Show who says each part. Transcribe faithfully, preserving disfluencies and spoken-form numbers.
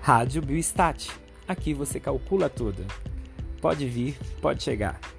Speaker 1: Rádio Biostat. Aqui você calcula tudo. Pode vir, pode chegar.